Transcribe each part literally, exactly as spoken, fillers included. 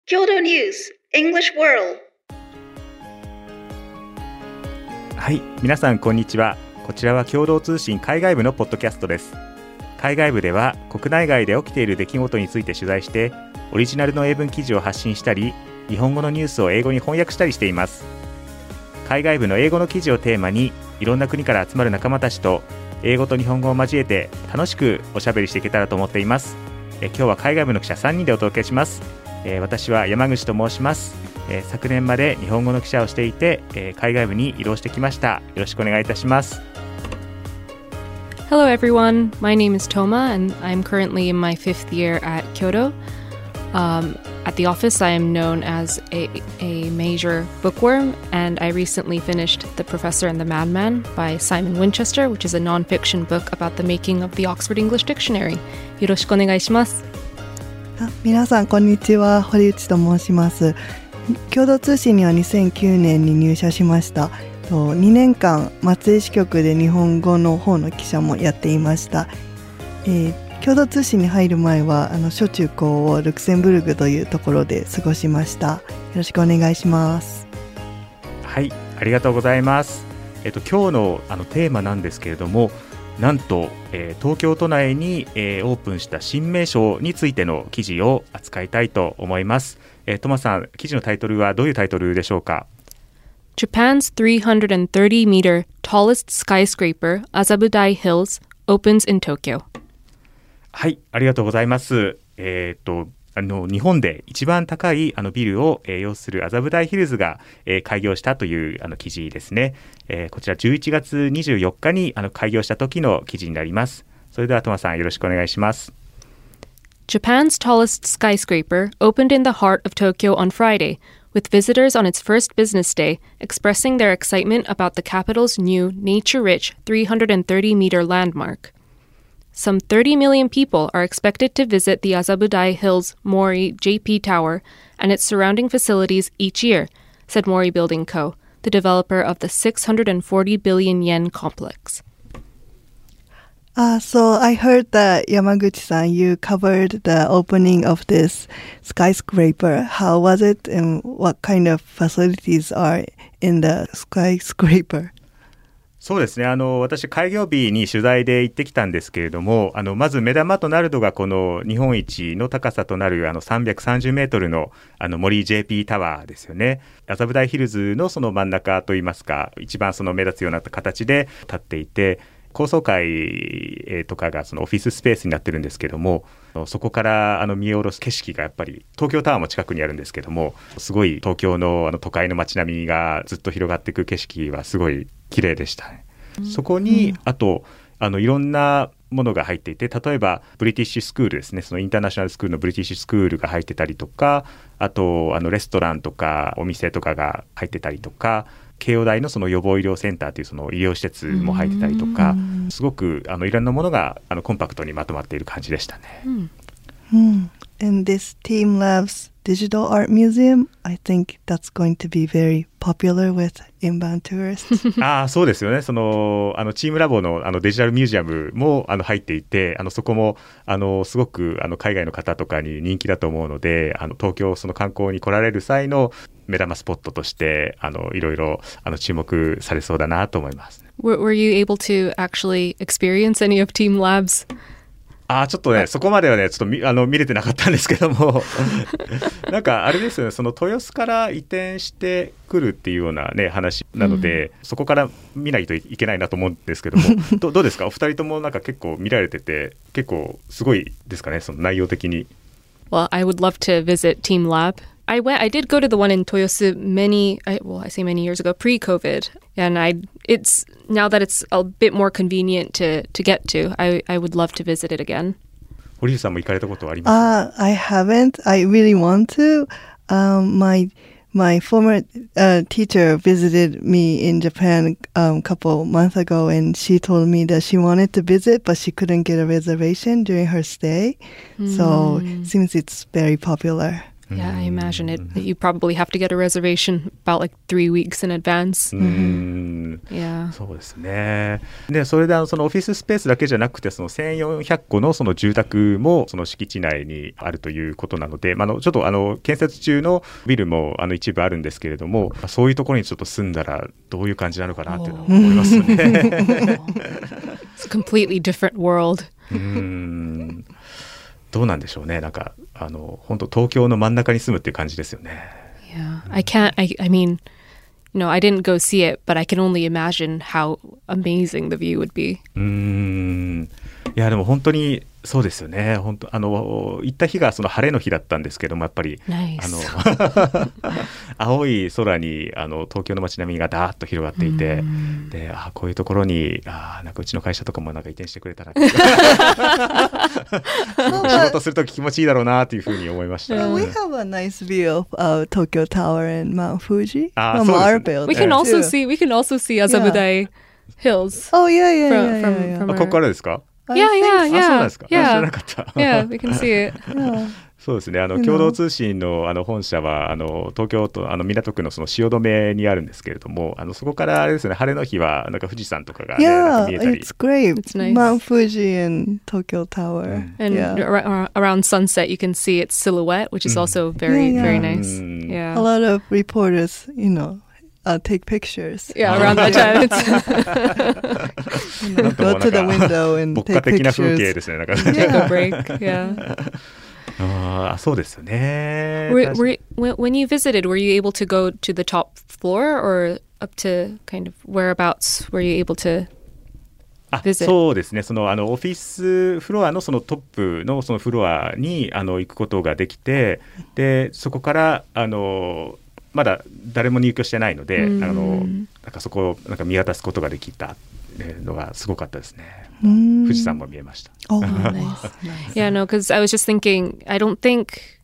Kyoto News English World。 はい、皆さんこんにちは。こちらは共同通信海外部のポッドキャストです。海外部では国内外で起きている出来事について取材してオリジナルの英文記事を発信したり、日本語のニュースを英語に翻訳したりしています。海外部の英語の記事をテーマにいろんな国から集まる仲間たちと英語と日本語を交えて楽しくおしゃべりしていけたらと思っています。え今日は海外部の記者さんにんでお届けします。えー、私は山口と申します。えー、昨年まで日本語の記者をしていて、えー、海外部に移動してきました。よろしくお願いいたします。 Hello everyone, my name is Toma and I'm currently in my fifth year at Kyoto. Um, at the office I am known as a, a major bookworm, and I recently finished The Professor and the Madman by Simon Winchester, which is a non-fiction book about the making of the Oxford English Dictionary. よろしくお願いします。 皆さんこんにちは、堀内と申します。共同通信にはにせんきゅうねんに入社しました。にねんかん松江支局で日本語の方の記者もやっていました。えー、共同通信に入る前はあの小中高をルクセンブルクというところで過ごしました。よろしくお願いします。 はい、ありがとうございます。えっと、今日の、あのテーマなんですけれども、なんと、えー、東京都内に、えー、オープンした新名所についての記事を扱いたいと思います。えー、トマさん、記事のタイトルはどういうタイトルでしょうか？ Japan's three hundred thirty meter tallest skyscraper, Azabudai Hills, opens in Tokyo. はい、ありがとうございます。えー、っとあの日本で一番高いあのビルを、えー、擁する麻布台ヒルズが、えー、開業したというあの記事ですね。えー、こちらじゅういちがつにじゅうよっかにあの開業した時の記事になります。それではトマさん、よろしくお願いします。 Japan's tallest skyscraper opened in the heart of Tokyo on Friday, with visitors on its first business day expressing their excitement about the capital's new nature-rich three hundred thirty meter landmark.Some thirty million people are expected to visit the Azabudai Hills Mori J P Tower and its surrounding facilities each year, said Mori Building Co., the developer of the six hundred forty billion yen complex. Uh, so I heard that Yamaguchi-san, you covered the opening of this skyscraper. How was it, and what kind of facilities are in the skyscraper? そうですね、あの私開業日に取材で行ってきたんですけれども、あのまず目玉となるのがこの日本一の高さとなるあのさんびゃくさんじゅうメートルのあの森 ジェーピー タワーですよね。麻布台ヒルズのその真ん中といいますか、一番その目立つような形で立っていて、高層階とかがそのオフィススペースになってるんですけども、そこからあの見下ろす景色がやっぱり東京タワーも近くにあるんですけども、すごい東京のあの都会の街並みがずっと広がっていく景色はすごい綺麗でしたね。そこにあとあのいろんなものが入っていて、例えばブリティッシュスクールですね、そのインターナショナルスクールのブリティッシュスクールが入ってたりとか、あとあのレストランとかお店とかが入ってたりとか、慶応大のその予防医療センターというその医療施設も入ってたりとか、すごくあのいろんなものがあのコンパクトにまとまっている感じでしたね。 うんうん、And this Team Labs Digital Art Museum, I think that's going to be very popular with inbound tourists. ああ、そうですよね。そのあのチームラボのあのデジタルミュージアムもあの入っていて、あのそこもあのすごくあの海外の方とかに人気だと思うので、あの東京その観光に来られる際の目玉スポットとしてあのいろいろあの注目されそうだなと思います。 Were, were you able to actually experience any of Team Labs? あちょっとねそこまではねちょっと 見, あの見れてなかったんですけどもなんかあれですよね、その豊洲から移転してくるっていうようなね話なので、うん、そこから見ないといけないなと思うんですけどもど, どうですかお二人ともなんか結構見られてて結構すごいですかね、その内容的に。 Well, I would love to visit Team Lab.I went. I did go to the one in Toyosu many. I, well, I say many years ago, pre-COVID, and I. It's now that it's a bit more convenient to to get to. I I would love to visit it again. 堀内さんも行かれたことはありますか？ Uh, I haven't. I really want to. Um, my my former uh, teacher visited me in Japan a um, couple months ago, and she told me that she wanted to visit, but she couldn't get a reservation during her stay. Mm. So it seems it's very popular. Yeah, I imagine it. You probably have to get a reservation about like three weeks in advance. うん Yeah. そうですね。で、それであのそのオフィススペースだけじゃなくて、そのせんよんひゃっこのその住宅もその敷地内にあるということなので、まあ、あのちょっとあの建設中のビルもあの一部あるんですけれども、そういうところにちょっと住んだらどういう感じなのかなっていうのを思いますね。 It's a completely different world. うーんどうなんでしょうね。なんかあの本当東京の真ん中に住むっていう感じですよね。 Yeah. I can't, I, I mean, you know, I didn't go see it, but I can only imagine how amazing the view would be. うーんいやでも本当にそうですよね。本当あの行った日がその晴れの日だったんですけども、やっぱり Nice. あの青い空にあの東京の街並みがダーッと広がっていて、であこういうところにあなんかうちの会社とかもなんか移転してくれたら仕事するとき気持ちいいだろうなというふうに思いました。 Well, we have a nice view of uh, Tokyo Tower and Mount Fuji Ah, from そうですね。 our building. We can also too. see, we can also see Azabudai Hills. Oh yeah, yeah, From- yeah, from- yeah, yeah. from- あここからですか？ I Yeah, think yeah, あそうなん yeah. ですか？あ知らな Yeah. かった。 Yeah, we can see it. Yeah. そうですね。あの You know. 共同通信のあの本社はあの東京都あの港区のその汐留にあるんですけれども、あのそこからあれですね、晴れの日はなんか富士山とかが、ね、なんか Yeah, 見えたり。 it's great. It's nice. Mount Fuji and Tokyo Tower. And yeah. ar- around sunset, you can see its silhouette, which is also very, Yeah, very yeah. nice. Mm. Yeah. A lot of reporters, you know, uh, take pictures. Yeah, around that time. It's You know, なんとも go to the なんか window and 牧歌 take 的な風景 pictures. ですね。なんか take a break. Yeah. ああ、そうですよね。 Were, 確かに were, when when you visited, were you able to go to the top floor or up to kind of whereabouts were you able to あ visit? そうですね。そのあのオフィスフロアのそのトップのそのフロアにあの行くことができて、でそこからあのまだ誰も入居してないので、 うんあのなんかそこをなんか見渡すことができたのがすごかったですね。 Mm. 富士山も見えました。 Oh, nice. nice. Yeah, no, because I was just thinking. I don't think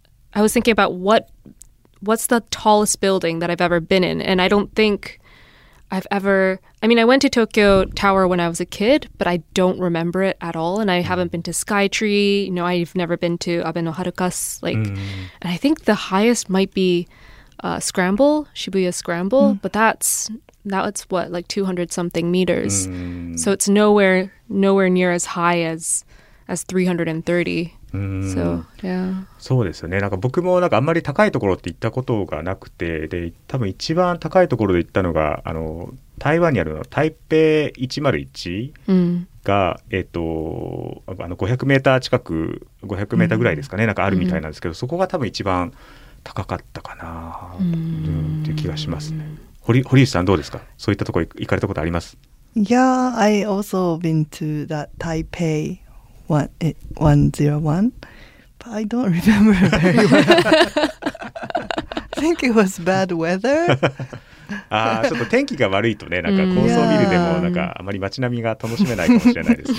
I was thinking about what what's the tallest building that I've ever been in, and I don't think I've ever. I mean, I went to Tokyo Tower when I was a kid, but I don't remember it at all. And I haven't been to Skytree. You know, I've never been to Abe no Harukas. Like, and I think the highest might be uh, Scramble, Shibuya Scramble, but that's now it's what like two hundred something meters. So it's nowhere nowhere near as high as as three hundred thirty. So yeah. そうですよね。なんか僕もなんかあんまり高いところって行ったことがなくて、で多分一番高いところで行ったのがあの台湾にあるの台北いちまるいち Mm. が、えっとあのごひゃくメーター近くごひゃくメーターぐらいですかね、なんかあるみたいなんですけど、そこが多分一番高かったかな、うんっていう気がしますね。堀堀内さんどうですか？そういったところ行かれたことあります？ Yeah, I also been to that Taipei one eh, one zero one, but I don't remember very well. I think it was bad weather. あーちょっと天気が悪いとね、なんか高層ビルでもなんかあまり街並みが楽しめないかもしれないですね。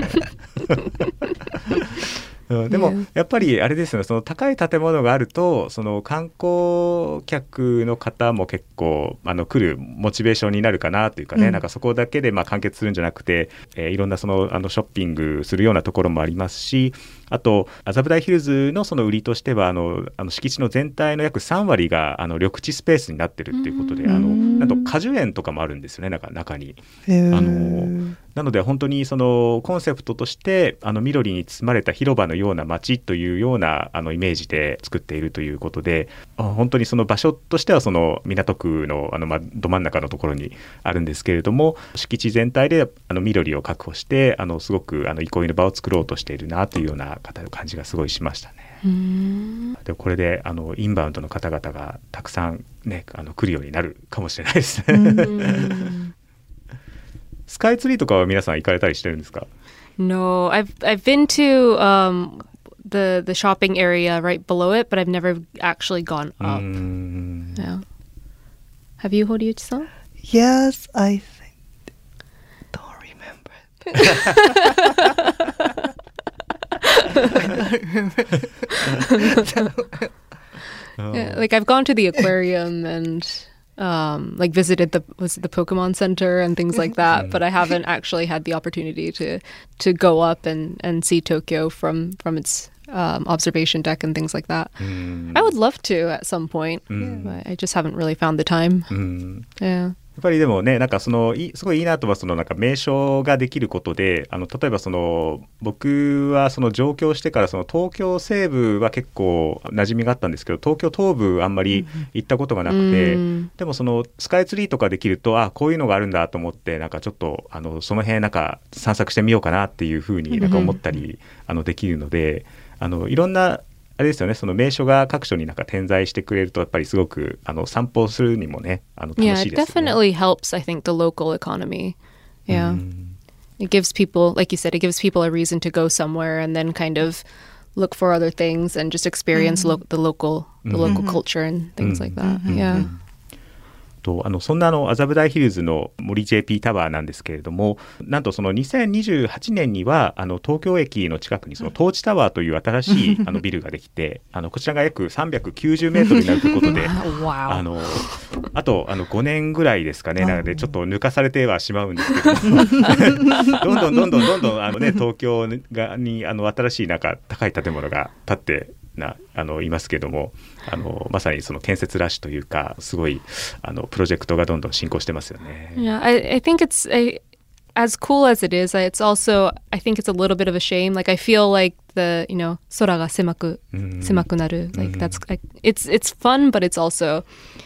うん、でもやっぱりあれですよね、その高い建物があるとその観光客の方も結構あの来るモチベーションになるかなというかね、 うんなんかそこだけでまあ完結するんじゃなくて、えーいろんなそのあのショッピングするようなところもありますし、あと麻布台ヒルズのその売りとしてはあのあの敷地の全体の約さん割があの緑地スペースになってるっていうことで、あのなんと果樹園とかもあるんですよね、なんか中に。あのなので本当にそのコンセプトとしてあの緑に包まれた広場のような街というようなあのイメージで作っているということで、あ本当にその場所としてはその港区のあのまど真ん中のところにあるんですけれども、敷地全体であの緑を確保してあのすごくあの憩いの場を作ろうとしているなというような感じがすごいしましたね。でこれであのインバウンドの方々がたくさん、ね、あの来るようになるかもしれないですね。スカイツリーとかは皆さん行かれたりしてるんですか？ No, I've I've been to um the the shopping area right below it, but I've never actually gone うー up. ん Yeah. Have you, Horiuchi-san? Yes, I think. Don't remember. Yeah, like I've gone to the aquarium and um like visited the was it the Pokemon Center and things like that, but I haven't actually had the opportunity to to go up and and see Tokyo from from its um, observation deck and things like that. うん I would love to at some point, うん but I just haven't really found the time. うん Yeah. やっぱりでもね、なんかそのいすごいいいなとはそのなんか名所ができることで、あの例えばその僕はその上京してからその東京西部は結構馴染みがあったんですけど、東京東部あんまり行ったことがなくて、 うんでもそのスカイツリーとかできると、あこういうのがあるんだと思って、なんかちょっとあのその辺なんか散策してみようかなっていうふうになんか思ったり、あのできるので、あのいろんなあれですよね、その名所が各所になんか点在してくれるとやっぱりすごくあの散歩するにもね、あの楽 Yeah, しい it ですよね。 definitely helps, I think, the local economy. Yeah. It gives people, like you said, it gives people a reason to go somewhere and then kind of look for other things and just experience lo- the local the local culture and things like that. Yeah. とあのそんなあの麻布台ヒルズの森 ジェーピー タワーなんですけれども、なんとそのにせんにじゅうはちねんにはあの東京駅の近くにそのトーチタワーという新しいあのビルができて、あのこちらが約さんびゃくきゅうじゅうメートルになるということで、 Wow. あのあとあのごねんぐらいですかね、なのでちょっと抜かされてはしまうんですけどもどんどんどんどんどんどんあの、ね、東京がにあの新しいなんか高い建物が建ってなあのいますけども、あのまさにその建設ラッシュというか、すごいあのプロジェクトがどんどん進行してますよね。 Yeah, I, I think it's I, as cool as it is, it's also I think it's a little bit of a shame. Like I feel like the you know 空が狭く狭くなる like that's like, it's it's fun, but it's also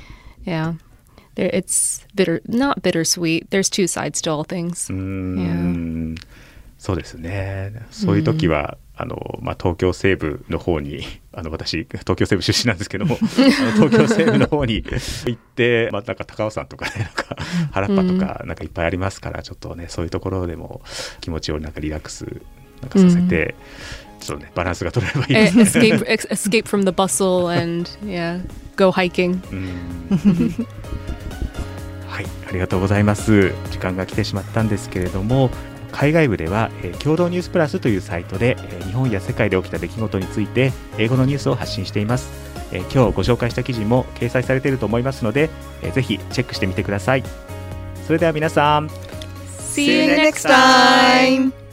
yeah, there it's bitter not bittersweet. There's two sides to all things. うーん、そうですね。そういう時は、あのまあ、東京西部の方にあの私東京西部出身なんですけどもあの東京西部の方に行って、まあ、なんか高尾山とかね、なんか原っぱとかなんかいっぱいありますから、ちょっとねそういうところでも気持ちをなんかリラックスなんかさせて、ちょっとねバランスが取れればいいですね。 escape ex- escape from the bustle and yeah, go hiking. うん、はい、ありがとうございます。時間が来てしまったんですけれども、海外部では、えー、共同ニュースプラスというサイトで、えー、日本や世界で起きた出来事について英語のニュースを発信しています。えー、今日ご紹介した記事も掲載されていると思いますので、えー、ぜひチェックしてみてください。それでは皆さん、 See you next time!